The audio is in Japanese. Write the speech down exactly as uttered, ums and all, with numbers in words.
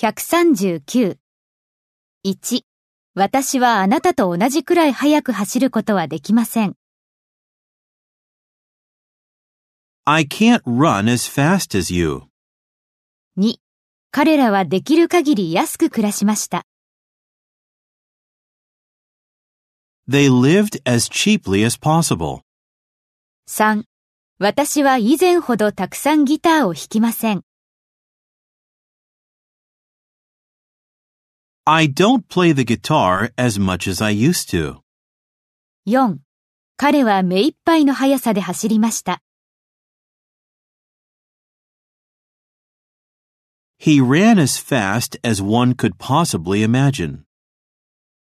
ひゃくさんじゅうきゅう。いち、私はあなたと同じくらい速く走ることはできません。 I can't run as fast as you. に、彼らはできる限り安く暮らしました。 They lived as cheaply as possible. さん、私は以前ほどたくさんギターを弾きません。 I don't play the guitar as much as I used to. よん、彼は目いっぱいの速さで走りました。 He ran as fast as one could possibly imagine.